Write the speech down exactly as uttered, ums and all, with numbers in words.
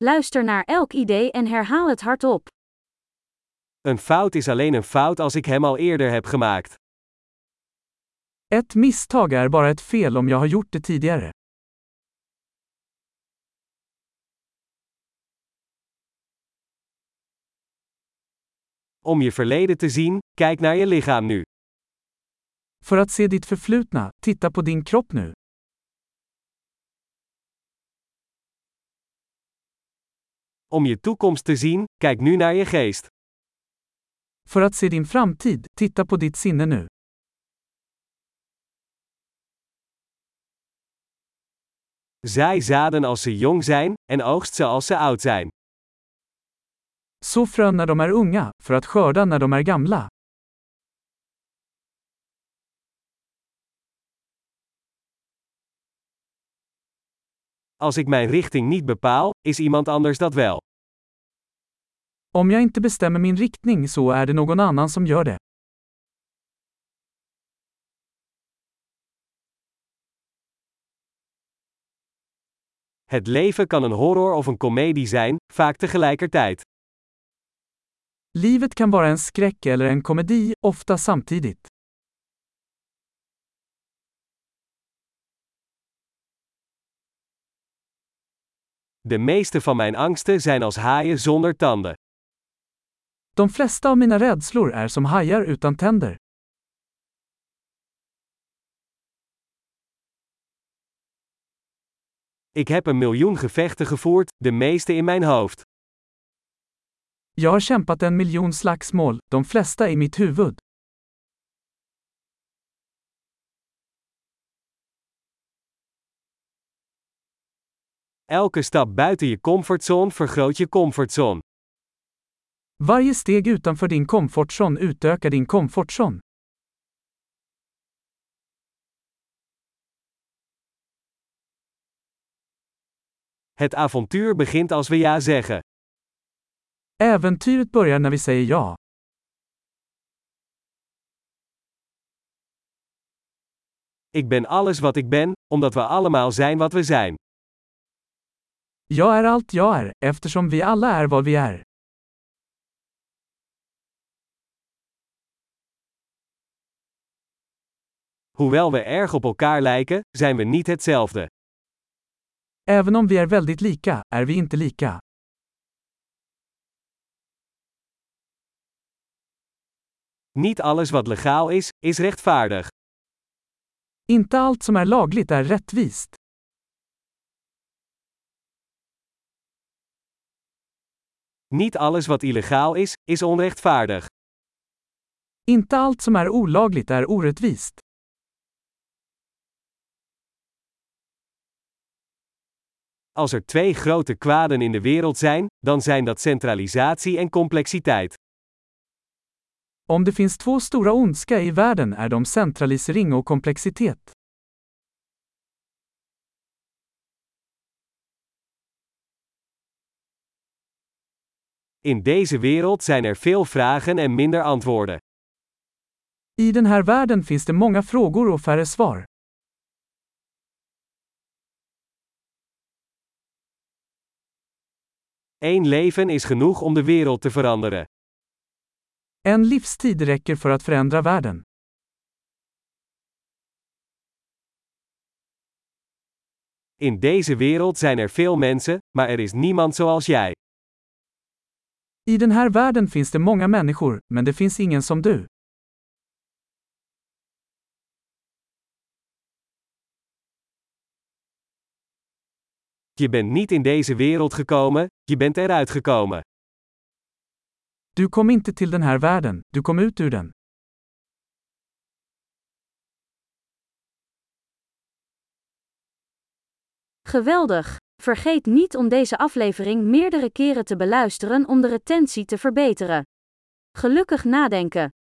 Luister naar elk idee en herhaal het hardop. Een fout is alleen een fout als ik hem al eerder heb gemaakt. Ett misstag är bara ett fel om jag har gjort det tidigare. Om je verleden te zien, kijk naar je lichaam nu. För att se ditt förflutna, titta på din kropp nu. Om je toekomst te zien, kijk nu naar je geest. För att se din framtid, titta på ditt sinne nu. Zaai zaden als ze jong zijn, en oogst ze als ze oud zijn. Så frön när de är unga, för att skörda när de är gamla. Als ik mijn richting niet bepaal, is iemand anders dat wel. Om jag inte bestämmer min riktning så är det någon annan som gör det. Het leven kan een horror of een komedie zijn, vaak tegelijkertijd. Livet kan vara en skräck eller en komedi, ofta samtidigt. De meeste van mijn angsten zijn als haaien zonder tanden. De flesta av mina rädslor är som hajar utan tänder. Ik heb een miljoen gevechten gevoerd, de meeste in mijn hoofd. Jag har kämpat en miljon slagsmål, de flesta i mitt huvud. Elke stap buiten je comfortzone vergroot je comfortzone. Varje steg utanför din komfortzon utökar din komfortzon. Het avontuur begint als we ja zeggen. Äventyret börjar när vi säger ja. Ik ben alles wat ik ben, omdat we allemaal zijn wat we zijn. Jag är allt jag är, eftersom vi alla är vad vi är. Hoewel we erg op elkaar lijken, zijn we niet hetzelfde. Även om vi är väldigt lika, är vi inte lika. Niet alles wat legaal is, is rechtvaardig. Inte allt som är lagligt är rättvist. Niet alles wat illegaal is, is onrechtvaardig. Inte allt som är olagligt är orättvist. Als er twee grote kwaden in de wereld zijn, dan zijn dat centralisatie en complexiteit. Om det finns två stora ondska i världen är de centralisering och komplexitet. In deze wereld zijn er veel vragen en minder antwoorden. I den här världen finns det många frågor och färre svar. Eén leven is genoeg om de wereld te veranderen. En livstid räcker för att förändra världen. In deze wereld zijn er veel mensen, maar er is niemand zoals jij. I den här världen finns det många människor, men det finns ingen som du. Je bent niet in deze wereld gekomen, je bent eruit gekomen. Du kom inte till den här världen, du kom ut ur den. Geweldig! Vergeet niet om deze aflevering meerdere keren te beluisteren om de retentie te verbeteren. Gelukkig nadenken!